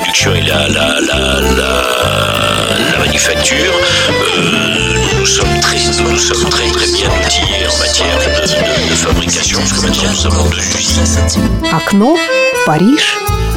production et la manufacture, nous sommes très bien outillés en matière de fabrication, parce que maintenant nous avons 2 usines. Окно в Париж.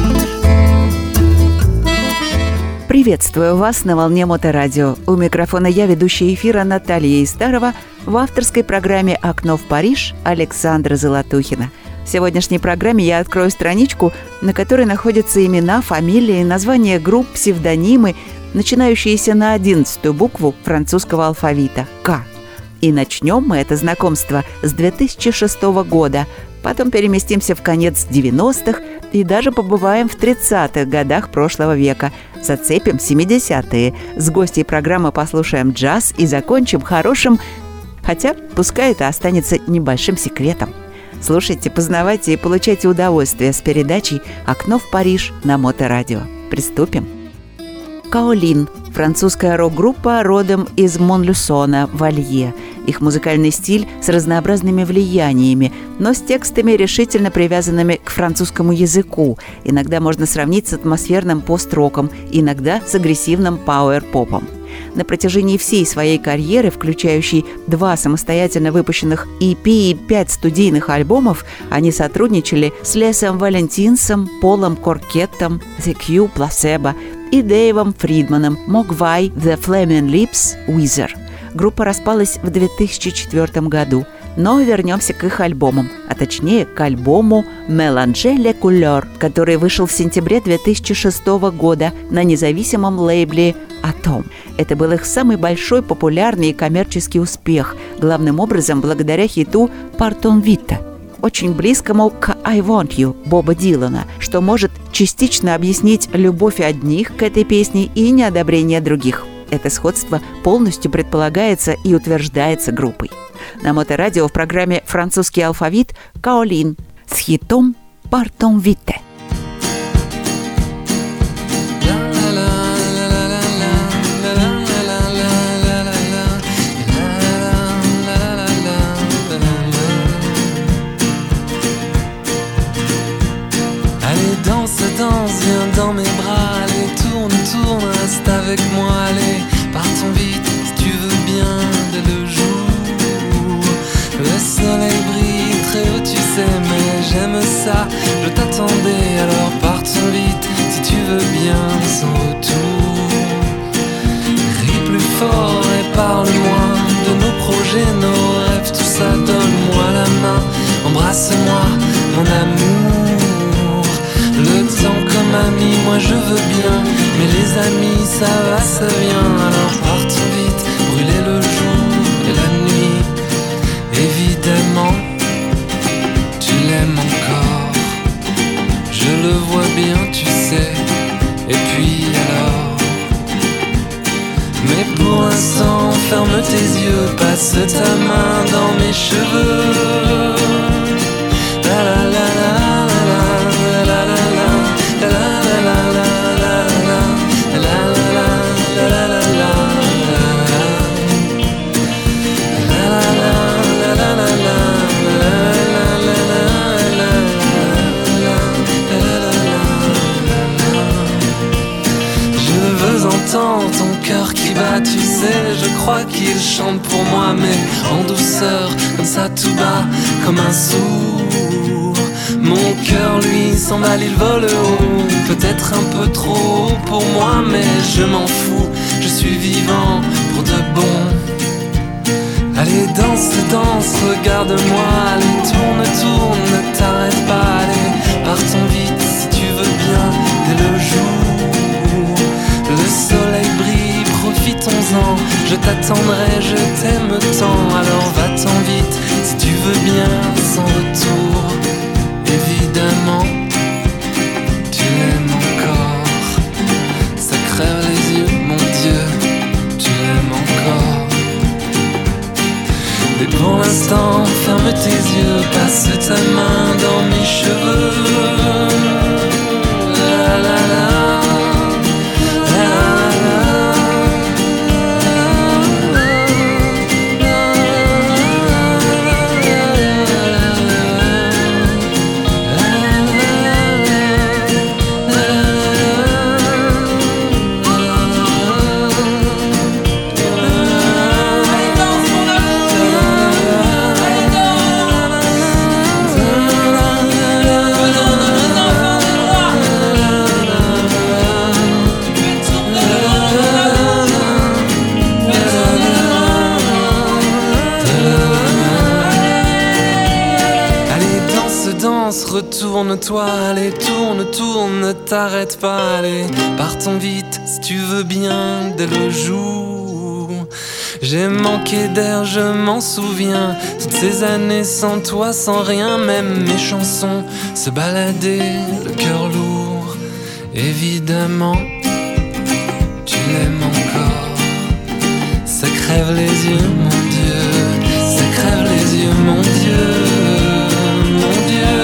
Приветствую вас на волне Моторадио. У микрофона я, ведущая эфира Наталья Истарова, в авторской программе «Окно в Париж» Александра Золотухина. В сегодняшней программе я открою страничку, на которой находятся имена, фамилии, названия групп, псевдонимы, начинающиеся на 11-ю букву французского алфавита – «К». И начнем мы это знакомство с 2006 года. Потом переместимся в конец 90-х и даже побываем в 30-х годах прошлого века. Зацепим 70-е. С гостьей программы послушаем джаз и закончим хорошим, хотя пускай это останется небольшим секретом. Слушайте, познавайте и получайте удовольствие с передачей «Окно в Париж» на Моторадио. Приступим. Каолин – французская рок-группа родом из Монлюсона в Алье. Их музыкальный стиль с разнообразными влияниями, но с текстами, решительно привязанными к французскому языку. Иногда можно сравнить с атмосферным пост-роком, иногда с агрессивным пауэр-попом. На протяжении всей своей карьеры, включающей 2 самостоятельно выпущенных EP и 5 студийных альбомов, они сотрудничали с Лесом Валентинсом, Полом Коркеттом, The Q, Placebo и Дэйвом Фридманом, Mogwai, The Flaming Lips, Weezer. Группа распалась в 2004 году, но вернемся к их альбомам, а точнее к альбому «Mélanger les couleurs», который вышел в сентябре 2006 года на независимом лейбле «Atom». Это был их самый большой популярный и коммерческий успех, главным образом благодаря хиту «Partons vite», очень близкому к «I Want You» Боба Дилана, что может частично объяснить любовь одних к этой песне и неодобрение других. Это сходство полностью предполагается и утверждается группой. На Моторадио в программе «Французский алфавит» Каолин с хитом «Partons vite». Danse, viens dans mes bras, allez, tourne, reste avec moi, allez, partons vite, si tu veux bien, dès le jour. Le soleil brille très haut, tu sais, mais j'aime ça, je t'attendais, alors partons vite, si tu veux bien, sans retour. Crie plus fort et parle-moi de nos projets, nos rêves, tout ça, donne-moi la main, embrasse-moi, mon amour. Le temps comme ami, moi je veux bien, mais les amis ça va, ça vient. Alors partons vite, brûler le jour et la nuit. Évidemment, tu l'aimes encore, je le vois bien, tu sais. Et puis alors, mais pour l'instant ferme tes yeux, passe ta main dans mes cheveux. La la la la. Ton cœur qui bat, tu sais, je crois qu'il chante pour moi, mais en douceur, comme ça tout bas, comme un sourd. Mon cœur lui s'emballe, il vole haut, peut-être un peu trop haut pour moi, mais je m'en fous, je suis vivant pour de bon. Allez danse, regarde-moi, allez tourne, ne t'arrête pas, allez partons vite si tu veux bien, dès le jour. Le soleil brille, profitons-en, je t'attendrai, je t'aime tant, alors va-t'en vite, si tu veux bien, sans retour. Évidemment, tu l'aimes encore, ça crève les yeux, mon Dieu, tu l'aimes encore. Mais pour l'instant, ferme tes yeux, passe ta main dans mes cheveux. tourne-toi, allez, tourne, tourne, ne t'arrête pas, allez, partons vite si tu veux bien dès le jour. J'ai manqué d'air, je m'en souviens, toutes ces années sans toi, sans rien, même mes chansons se baladaient, le cœur lourd, évidemment, tu l'aimes encore. Ça crève les yeux, mon Dieu, ça crève les yeux, mon Dieu, mon Dieu.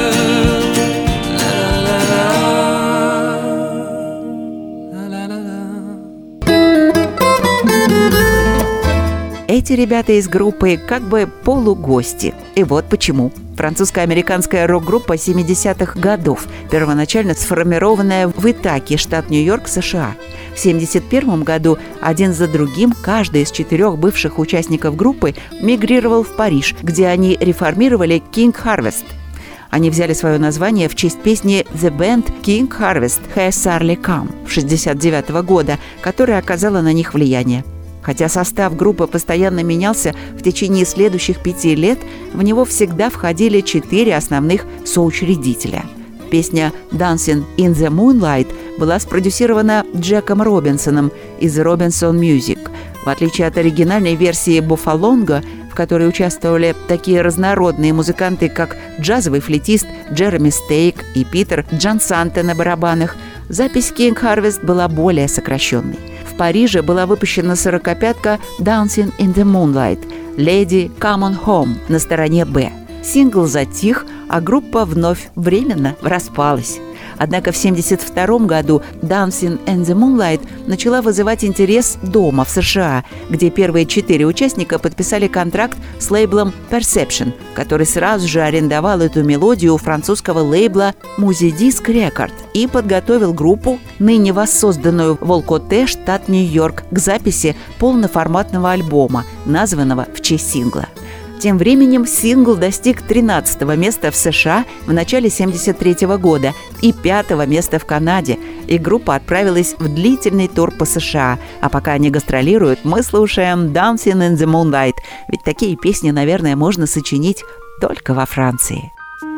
Эти ребята из группы как бы полугости. И вот почему. Французско-американская рок-группа 70-х годов, первоначально сформированная в Итаке, штат Нью-Йорк, США. В 1971 году один за другим каждый из 4 бывших участников группы мигрировал в Париж, где они реформировали King Harvest. Они взяли свое название в честь песни «The Band King Harvest Has Surely Come» 1969 года, которая оказала на них влияние. Хотя состав группы постоянно менялся в течение следующих 5 лет, в него всегда входили 4 основных соучредителя. Песня «Dancing in the Moonlight» была спродюсирована Джеком Робинсоном из Robinson Music. В отличие от оригинальной версии «Буффалонго», в которой участвовали такие разнородные музыканты, как джазовый флейтист Джереми Стейк и Питер Джансанте на барабанах, запись King Harvest была более сокращенной. В Париже была выпущена 45-ка «Dancing in the Moonlight» «Lady Come on Home» на стороне «Б». Сингл затих, а группа вновь временно распалась. Однако в 1972 году «Dancing in the Moonlight» начала вызывать интерес дома, в США, где первые 4 участника подписали контракт с лейблом Perception, который сразу же арендовал эту мелодию у французского лейбла Music Record и подготовил группу, ныне воссозданную в Волкоте, штат Нью-Йорк, к записи полноформатного альбома, названного в честь сингла. Тем временем сингл достиг 13-го места в США в начале 1973 года и 5-го места в Канаде, и группа отправилась в длительный тур по США. А пока они гастролируют, мы слушаем «Dancing in the Moonlight», ведь такие песни, наверное, можно сочинить только во Франции.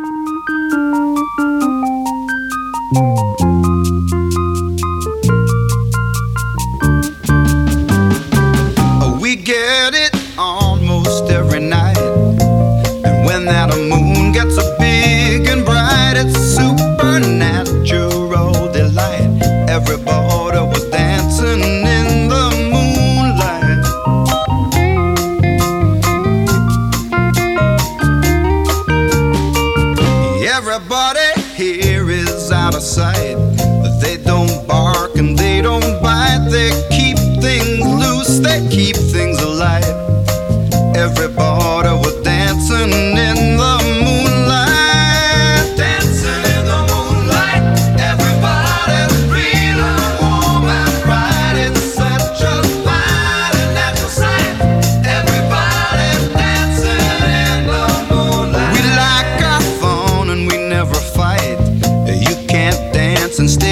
We get it almost every night, and when that moon gets so big and bright, it's supernatural delight. Everybody was dancing in the moonlight. Everybody here is out of sight. They don't bark and they don't bite. They keep things loose, they keep things alive. Everybody was dancing in the moonlight. Dancing in the moonlight. Everybody's real and warm and bright. It's such a fine and natural sight. Everybody's dancing in the moonlight. We like our fun and we never fight. You can't dance and stay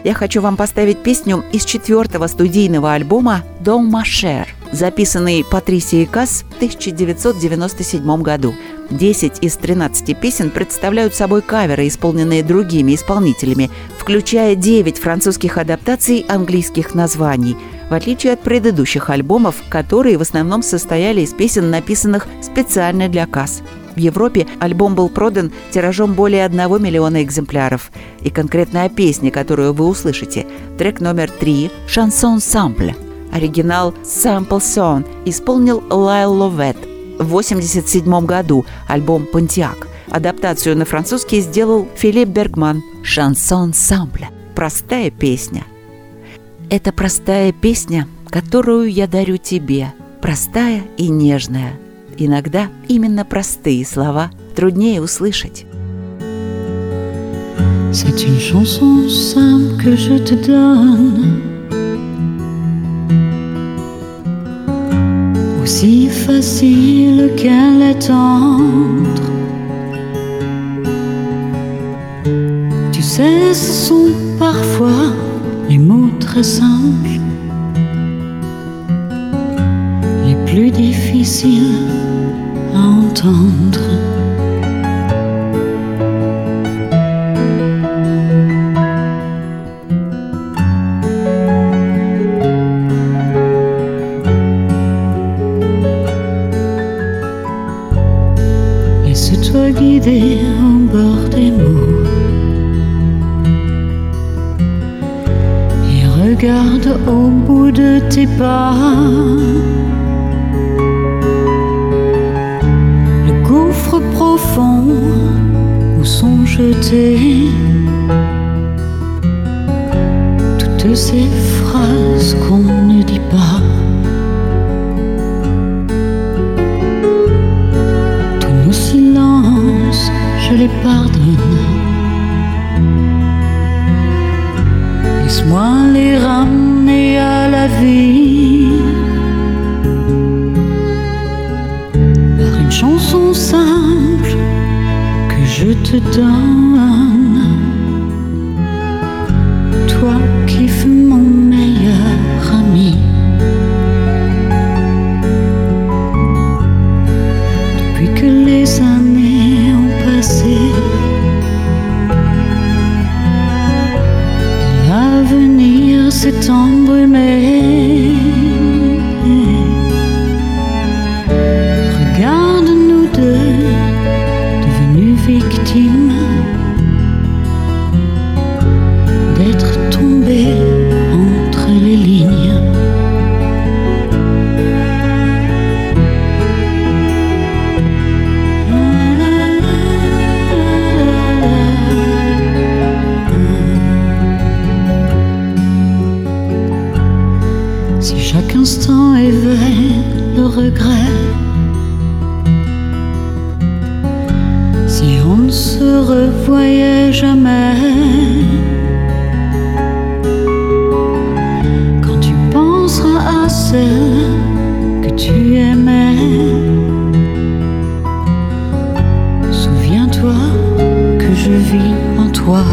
Я хочу вам поставить песню из 4-го студийного альбома «Don Ma Chère», записанный Патрисией Касс в 1997 году. 10 из 13 песен представляют собой каверы, исполненные другими исполнителями, включая 9 французских адаптаций английских названий, в отличие от предыдущих альбомов, которые в основном состояли из песен, написанных специально для Касс. В Европе альбом был продан тиражом более 1 миллиона экземпляров. И конкретная песня, которую вы услышите, трек номер 3 «Chanson Sample». Оригинал «Sample Song» исполнил Лайл Ловет в 1987 году, альбом «Понтиак». Адаптацию на французский сделал Филипп Бергман. «Chanson Sample» – простая песня. Это простая песня, которую я дарю тебе, простая и нежная. Иногда именно простые слова труднее услышать. C'est une chanson simple que je te donne, aussi facile qu'elle est tendre. Tu sais, ce sont parfois les mots très simples, les plus difficiles à entendre. Laisse-toi guider au bord des mots et regarde au bout de tes pas le gouffre profond où sont jetées toutes ces phrases qu'on ne dit pas. Je les pardonne. Laisse-moi les ramener à la vie par une chanson simple que je te donne. Toi qui fus mon meilleur ami. Depuis que les années ont passé, l'avenir s'est embrumé. Regarde nous deux, devenus victimes d'être tombés entre les lignes. Si chaque instant éveille le regret, si on ne se revoyait jamais, quand tu penseras à celle que tu aimais, souviens-toi que je vis en toi.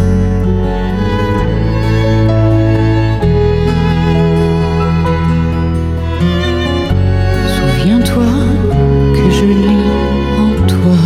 Souviens-toi que je lis en toi.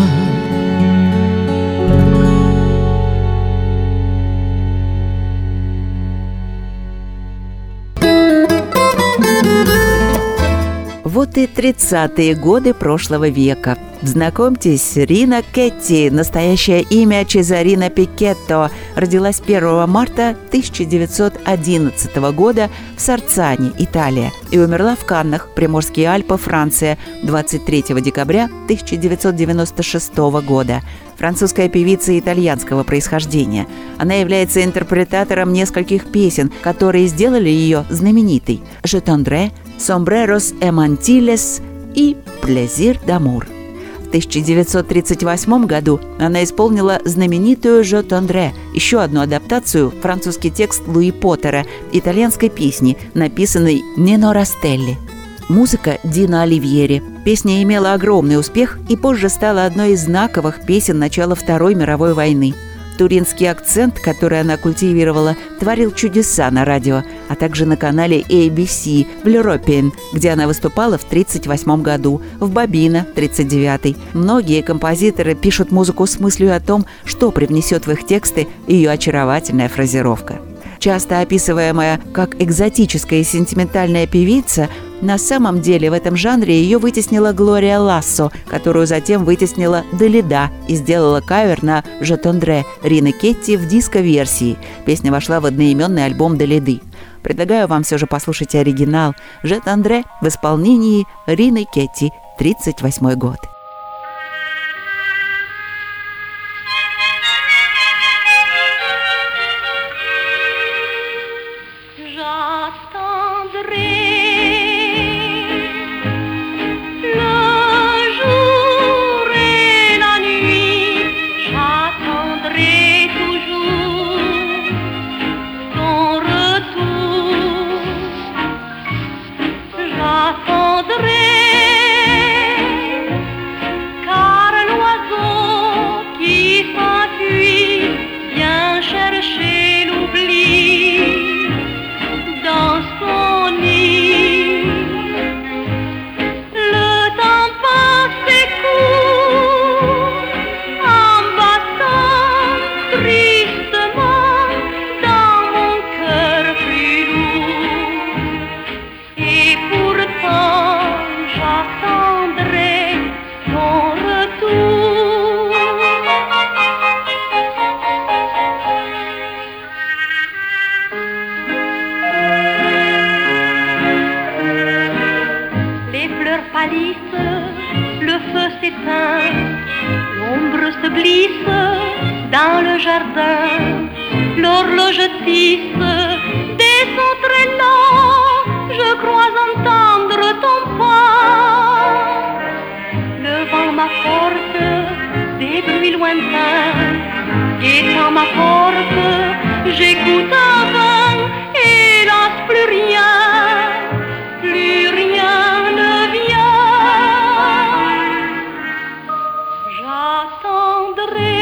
Вот и 30-е годы прошлого века. Знакомьтесь, Рина Кетти, настоящее имя Чезарина Пикетто, родилась 1 марта 1911 года в Сарцане, Италия, и умерла в Каннах, Приморские Альпы, Франция, 23 декабря 1996 года. Французская певица итальянского происхождения. Она является интерпретатором нескольких песен, которые сделали ее знаменитой: «Je tendrai», «Sombreros et mantilles» и «Plaisir d'amour». В 1938 году она исполнила знаменитую «Je tendrai», еще одну адаптацию, французский текст Луи Поттера, итальянской песни, написанной Нино Растелли. Музыка Дино Оливьери. Песня имела огромный успех и позже стала одной из знаковых песен начала Второй мировой войны. туринский акцент, который она культивировала, творил чудеса на радио, а также на канале ABC в L'European, где она выступала в 1938 году, в Бобино в 1939. Многие композиторы пишут музыку с мыслью о том, что привнесет в их тексты ее очаровательная фразировка. Часто описываемая как экзотическая и сентиментальная певица, на самом деле в этом жанре ее вытеснила Глория Лассо, которую затем вытеснила Далида и сделала кавер на «Je t'endrai» Рины Кетти в диско-версии. Песня вошла в одноименный альбом Далиды. Предлагаю вам все же послушать оригинал «Je t'endrai» в исполнении Рины Кетти, 1938 год. Dans le jardin, l'horloge tisse des sons très lents. Je crois entendre ton pas. Le vent m'apporte des bruits lointains. Guettant ma porte, j'écoute un vent. Hélas, plus rien ne vient. J'attendrai.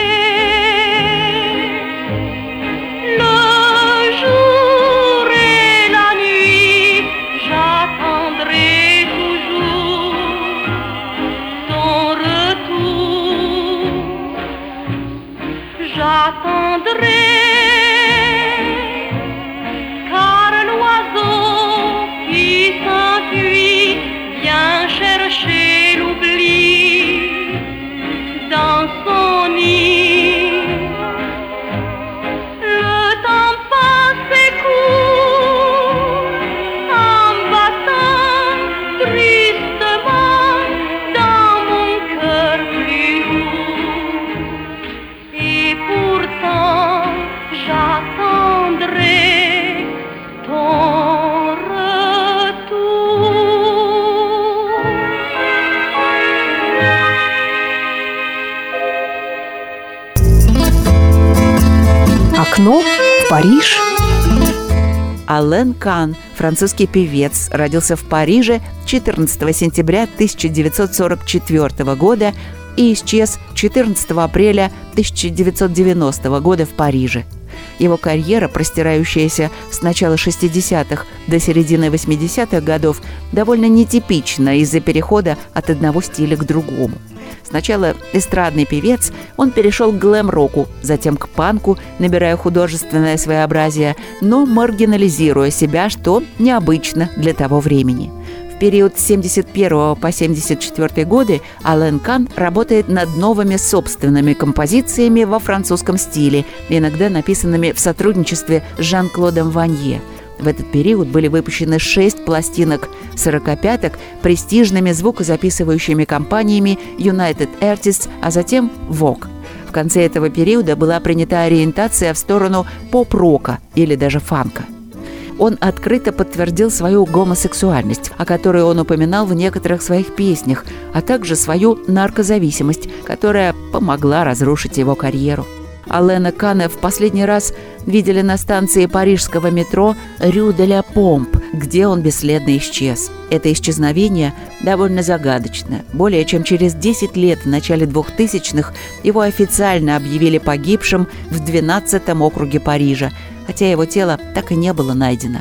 J'attendrai, car l'oiseau qui s'enfuit vient chercher l'oubli dans son nid. Le temps passe et court en battant tristement dans mon cœur plus lourd. Et pourtant j'attendrai ton retour. Окно в Париж. Ален Кан, французский певец, родился в Париже 14 сентября 1944 года и исчез 14 апреля 1990 года в Париже. Его карьера, простирающаяся с начала 60-х до середины 80-х годов, довольно нетипична из-за перехода от одного стиля к другому. Сначала эстрадный певец, он перешел к глэм-року, затем к панку, набирая художественное своеобразие, но маргинализируя себя, что необычно для того времени. В период с 71 по 74 годы Ален Кан работает над новыми собственными композициями во французском стиле, иногда написанными в сотрудничестве с Жан-Клодом Ванье. В этот период были выпущены 6 пластинок 45-ок престижными звукозаписывающими компаниями United Artists, а затем Vogue. В конце этого периода была принята ориентация в сторону поп-рока или даже фанка. Он открыто подтвердил свою гомосексуальность, о которой он упоминал в некоторых своих песнях, а также свою наркозависимость, которая помогла разрушить его карьеру. Алена Кана в последний раз видели на станции парижского метро Рю де ля Помп где он бесследно исчез. Это исчезновение довольно загадочно. Более чем через 10 лет, в начале 2000-х, его официально объявили погибшим в 12-м округе Парижа, хотя его тело так и не было найдено.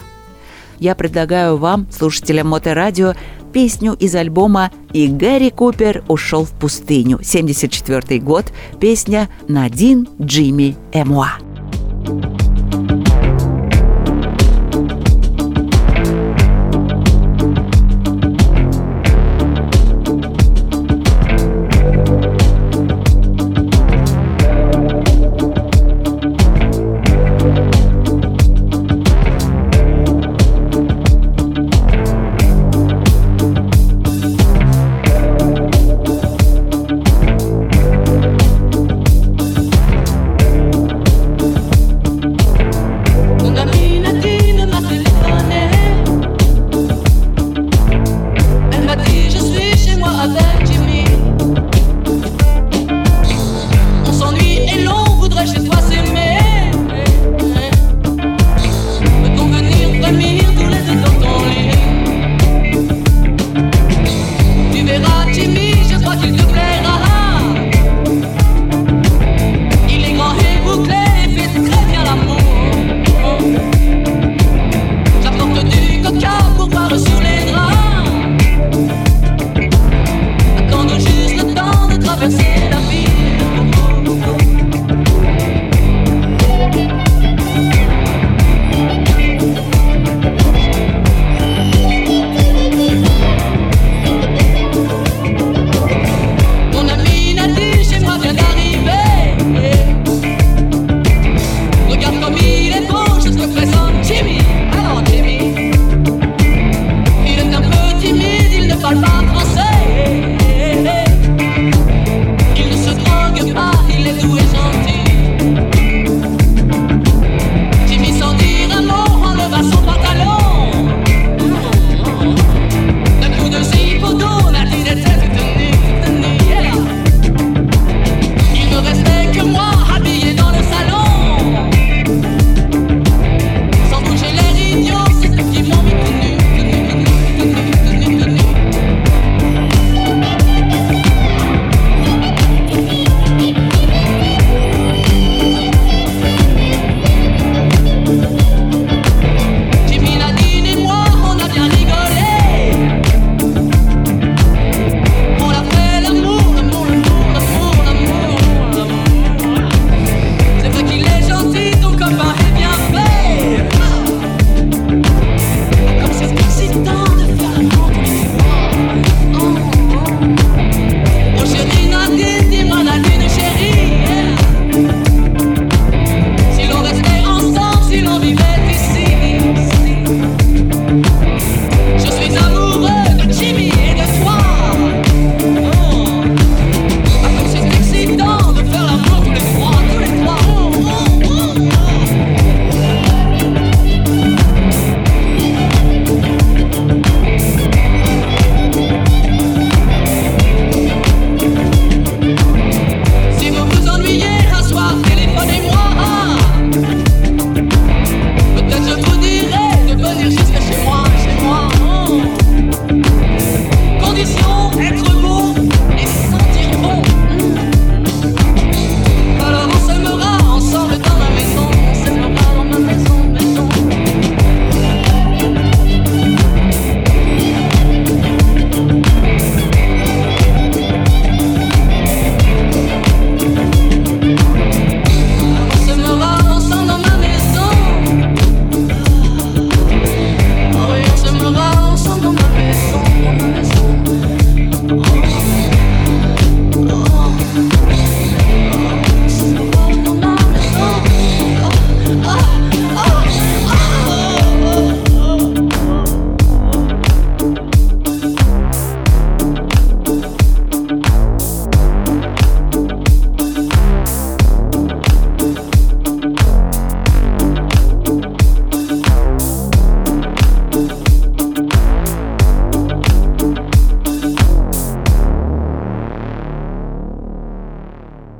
Я предлагаю вам, слушателям Моторадио, песню из альбома «И Гэри Купер ушел в пустыню», 1974 год, песня «Надин, Джимми и Муа».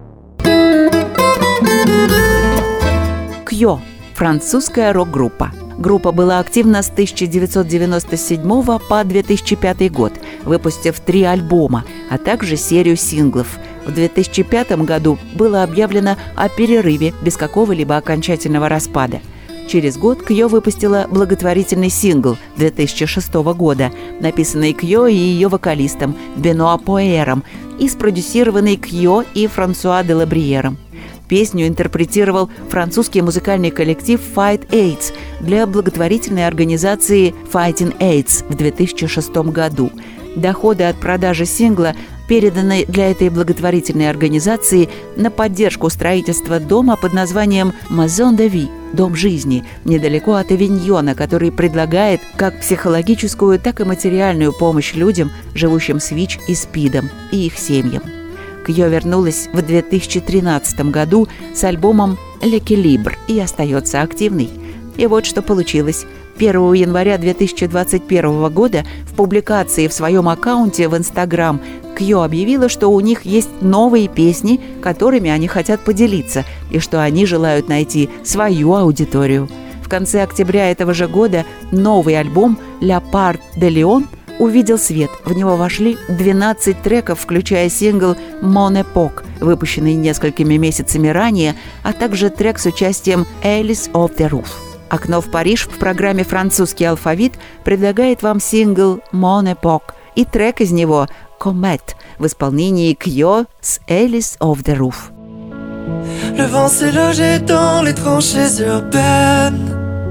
Кьо – французская рок-группа. Группа была активна с 1997 по 2005 год, выпустив 3 альбома, а также серию синглов. В 2005 году было объявлено о перерыве без какого-либо окончательного распада. Через год Кьо выпустила благотворительный сингл 2006 года, написанный Кьо и ее вокалистом Бенуа Поэром и спродюсированный Кьо и Франсуа де Лабриером. Песню интерпретировал французский музыкальный коллектив Fight AIDS для благотворительной организации Fighting AIDS в 2006 году. Доходы от продажи сингла переданы для этой благотворительной организации на поддержку строительства дома под названием Maison de Vie – Дом жизни, недалеко от Авиньона, который предлагает как психологическую, так и материальную помощь людям, живущим с ВИЧ и СПИДом, и их семьям. Кьо вернулась в 2013 году с альбомом «L'Équilibre» и остается активной. И вот что получилось. 1 января 2021 года в публикации в своем аккаунте в Instagram Кьо объявила, что у них есть новые песни, которыми они хотят поделиться, и что они желают найти свою аудиторию. В конце октября этого же года новый альбом «La Part de Lion» увидел свет. В него вошли 12 треков, включая сингл «Mon Époque», выпущенный несколькими месяцами ранее, а также трек с участием «Alice of the Roof». «Окно в Париж» в программе «Французский алфавит» предлагает вам сингл «Mon Époque» и трек из него «Comet» в исполнении Кьо с «Alice of the Roof». Le vent s'est logé dans les tranchées urbaines.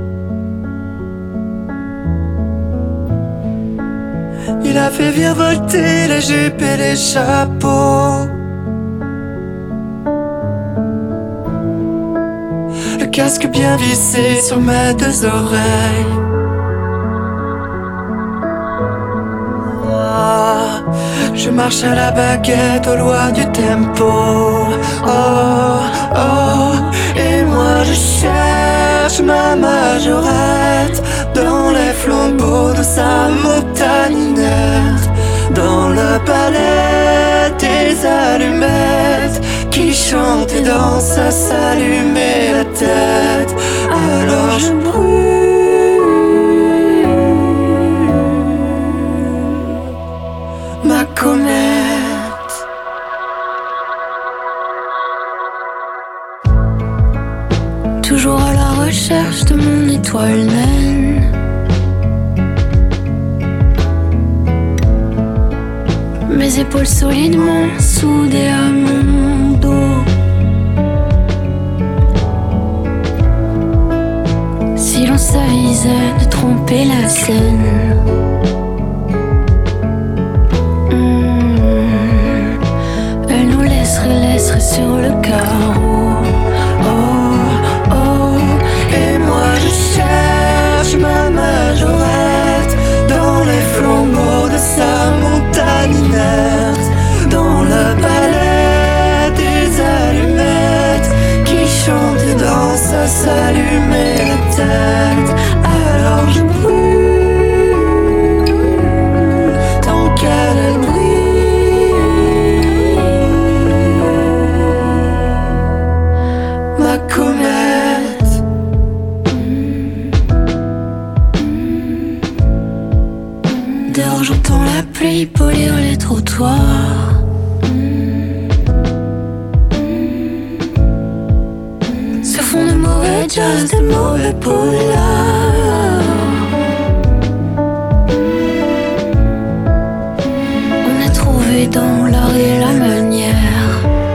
Il a fait virevolter les jupes et les chapeaux. Le casque bien vissé sur mes 2 oreilles. Je marche à la baguette aux lois du tempo. Oh, oh, et moi je cherche ma majorette dans les flambeaux de sa montagne inerte, dans le palais des allumettes qui chante et danse à s'allumer la tête. Alors je brûle ma comète. Toujours à la recherche de mon étoile naine. Mes épaules solidement soudées à mon dos. Si l'on s'avisait de tromper la scène, elle nous laisserait sur le carreau. Oh, oh, et moi je cherche ma majorette dans les flambeaux de sa montagne inerte, dans le palais des allumettes qui chante et danse à s'allumer la tête. Alors je brûle tant qu'elle brille ma comète. Dehors j'entends la pluie polir les trottoirs. Ce fond de mauvais jazz, de mauvais polar. On a trouvé dans l'art et la manière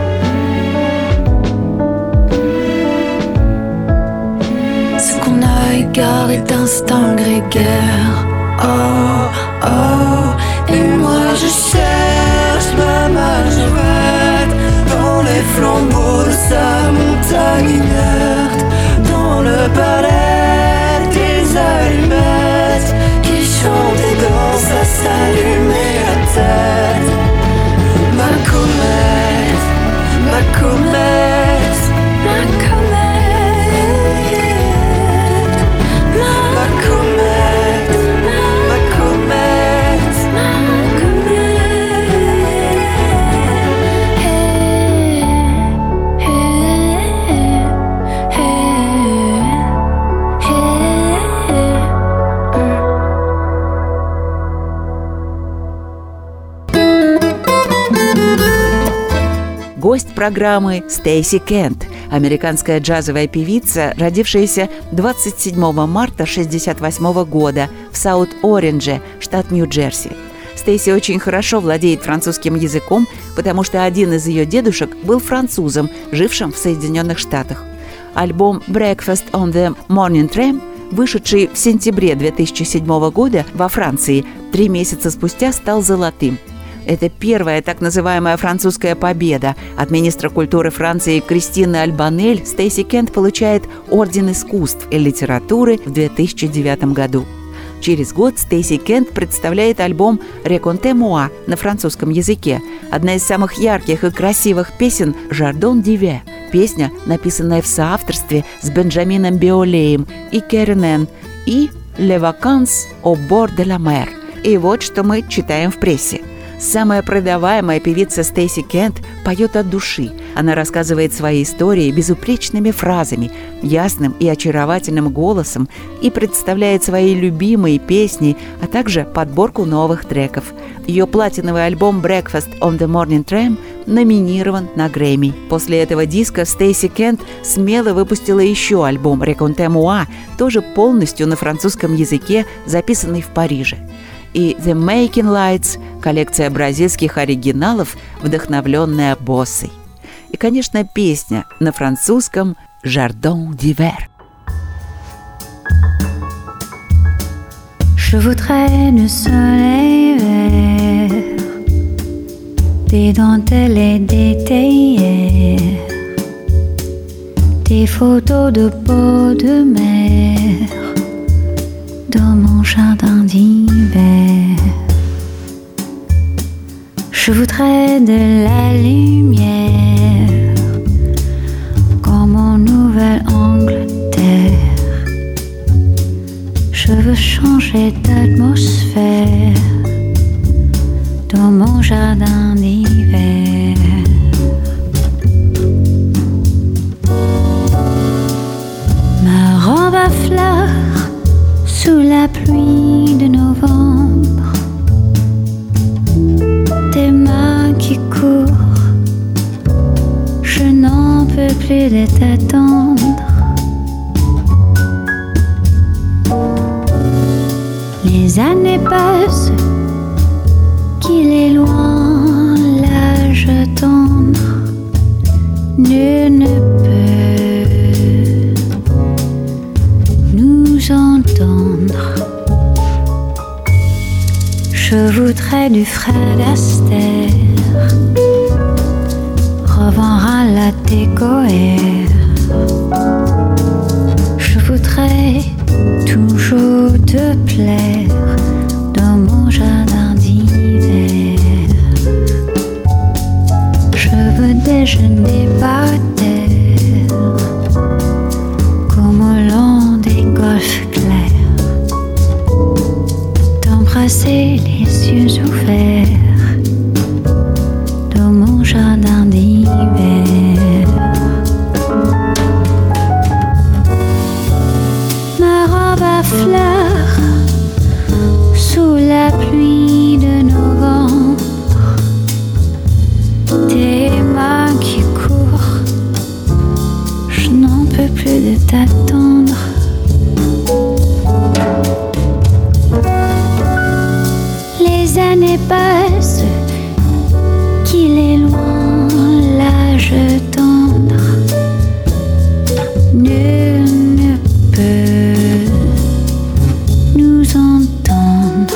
ce qu'on a égaré d'instinct grégaire. Oh, oh, et moi je cherche ma majorette dans les flambeaux de sa montagne inerte, dans le palais des allumettes qui chante et danse à s'allumer la tête. Ma comète, ma comète, ma comète, ma comète, ma comète, ma comète. Hey, hey, hey, Гость программы Стейси Кент, американская джазовая певица, родившаяся 27 марта 1968 года в Саут-Орендже, штат Нью-Джерси. Стейси очень хорошо владеет французским языком, потому что один из ее дедушек был французом, жившим в Соединенных Штатах. Альбом «Breakfast on the Morning Tram», вышедший в сентябре 2007 года во Франции, 3 месяца спустя стал золотым. Это первая так называемая французская победа. От министра культуры Франции Кристины Альбанель Стейси Кент получает Орден искусств и литературы в 2009 году. Через год Стейси Кент представляет альбом «Raconte moi» на французском языке. Одна из самых ярких и красивых песен «Jardin d'hiver». Песня, написанная в соавторстве с Бенджамином Биолеем и Керенен, и «Les vacances au bord de la mer». И вот что мы читаем в прессе. Самая продаваемая певица Стейси Кент поет от души. Она рассказывает свои истории безупречными фразами, ясным и очаровательным голосом и представляет свои любимые песни, а также подборку новых треков. Ее платиновый альбом «Breakfast on the Morning Tram» номинирован на Грэмми. После этого диска Стейси Кент смело выпустила еще альбом «Raconte moi», тоже полностью на французском языке, записанный в Париже. И «The Making Lights» – коллекция бразильских оригиналов, вдохновленная боссой. И, конечно, песня на французском «Jardin d'hiver». Je voudrais du soleil vert, des dentelles et des théières, des photos de peau de mer dans mon jardin d'hiver. Je voudrais de la lumière comme en Nouvelle-Angleterre. Je veux changer d'atmosphère dans mon jardin d'hiver. Ma robe à fleurs sous la pluie de novembre, tes mains qui courent, je n'en peux plus de t'attendre. Les années passent, qu'il est loin l'âge tendre, nul ne peut nous entendre. Je voudrais du Fred Astaire, revendre à la décoère. Je voudrais toujours te plaire dans mon jardin d'hiver. Je veux déjeuner par terre comme au long des golfes clairs, t'embrasser les yeux ouverts dans mon jardin d'hiver. Ma robe à fleurs sous la pluie de novembre, tes mains qui courent, je n'en peux plus de t'attendre. Les années passent, qu'il est loin l'âge tendre, nul ne peut nous entendre.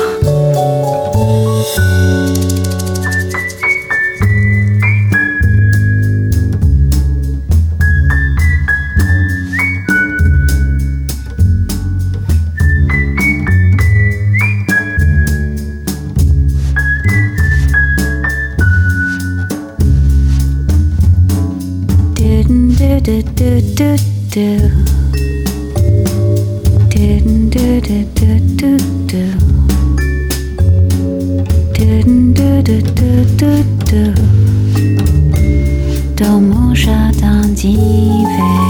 Do do do do do do do do do do do do do do dans mon jardin d'hiver.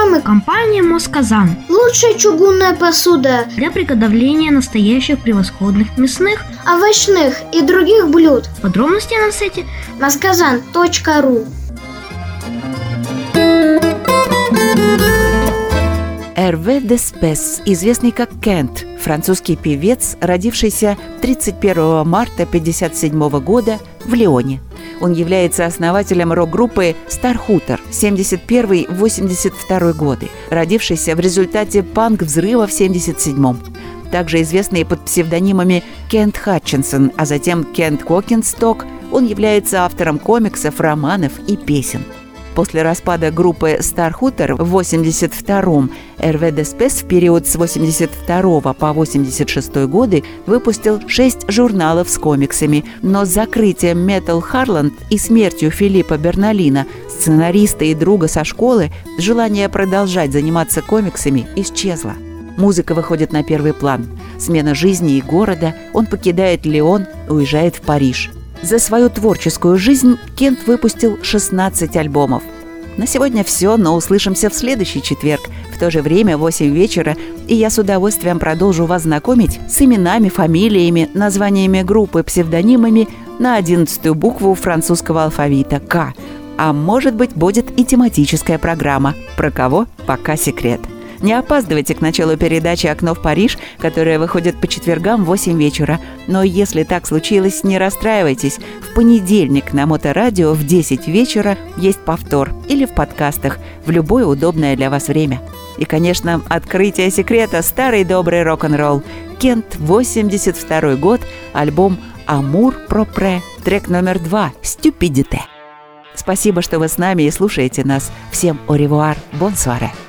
программы компания «Москазан». лучшая чугунная посуда для приготовления настоящих превосходных мясных, овощных и других блюд. Подробности на сайте moskazan.ru. Эрве Деспес, известный как Кент, французский певец, родившийся 31 марта 1957 года в Лионе. Он является основателем рок-группы Starhooter 71-82 годы, родившейся в результате панк-взрыва в 1977-м. Также известный под псевдонимами Кент Хатчинсон, а затем Кент Кокенсток, он является автором комиксов, романов и песен. После распада группы Starhooter в 1982-м Эрве Деспес в период с 1982 по 1986 годы выпустил 6 журналов с комиксами, но с закрытием Metal Harland и смертью Филиппа Берналина, сценариста и друга со школы, желание продолжать заниматься комиксами исчезло. Музыка выходит на первый план. Смена жизни и города, он покидает Лион, уезжает в Париж. За свою творческую жизнь Кент выпустил 16 альбомов. На сегодня все, но услышимся в следующий четверг, в то же время в 8 вечера, и я с удовольствием продолжу вас знакомить с именами, фамилиями, названиями группы, псевдонимами на 11-ю букву французского алфавита «К». А может быть, будет и тематическая программа. Про кого? Пока секрет. Не опаздывайте к началу передачи «Окно в Париж», которая выходит по четвергам в 8 вечера. Но если так случилось, не расстраивайтесь. В понедельник на Моторадио в 10 вечера есть повтор или в подкастах в любое удобное для вас время. И, конечно, открытие секрета – старый добрый рок-н-ролл. Кент, 82 год, альбом «Амур пропре», трек номер 2 «Стюпидите». Спасибо, что вы с нами и слушаете нас. Всем au revoir, bonsoir.